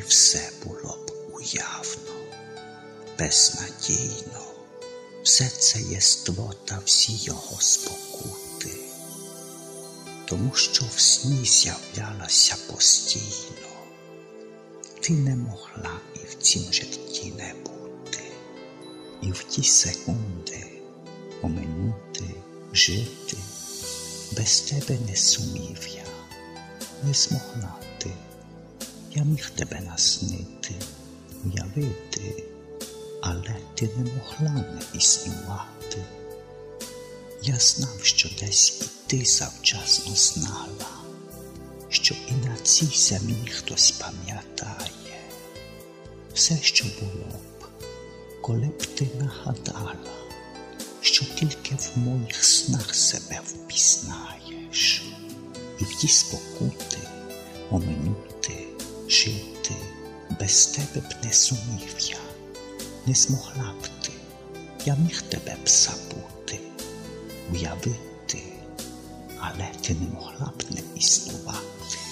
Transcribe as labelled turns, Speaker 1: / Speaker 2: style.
Speaker 1: все було б уявно, безнадійно. Все це єство та всі його спокути, тому що в сні з'являлася постійно. Ти не могла і в цім житті не бути, і в ті секунди оминути, жити. Без тебе не сумів я, не змогла ти. Я міг тебе наснити, уявити, але ти не могла не існувати. Я знав, що десь і ти завчасно знала, що і на цій землі хтось пам'ятає все, що було б, коли б ти нагадала, що тільки в моїх снах себе впізнаєш, і в ті спокути оминути, жити. Без тебе б не сумів я, не змогла б ти. Я міг тебе б забути, уявити, але ти не могла б не існувати.